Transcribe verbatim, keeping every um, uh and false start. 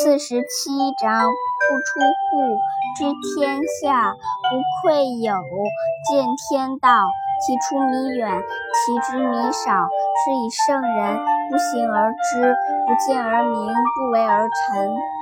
四十七章，不出户，知天下，无愧有，见天道，其出弥远，其知弥少。是以圣人不行而知，不见而明，不为而成。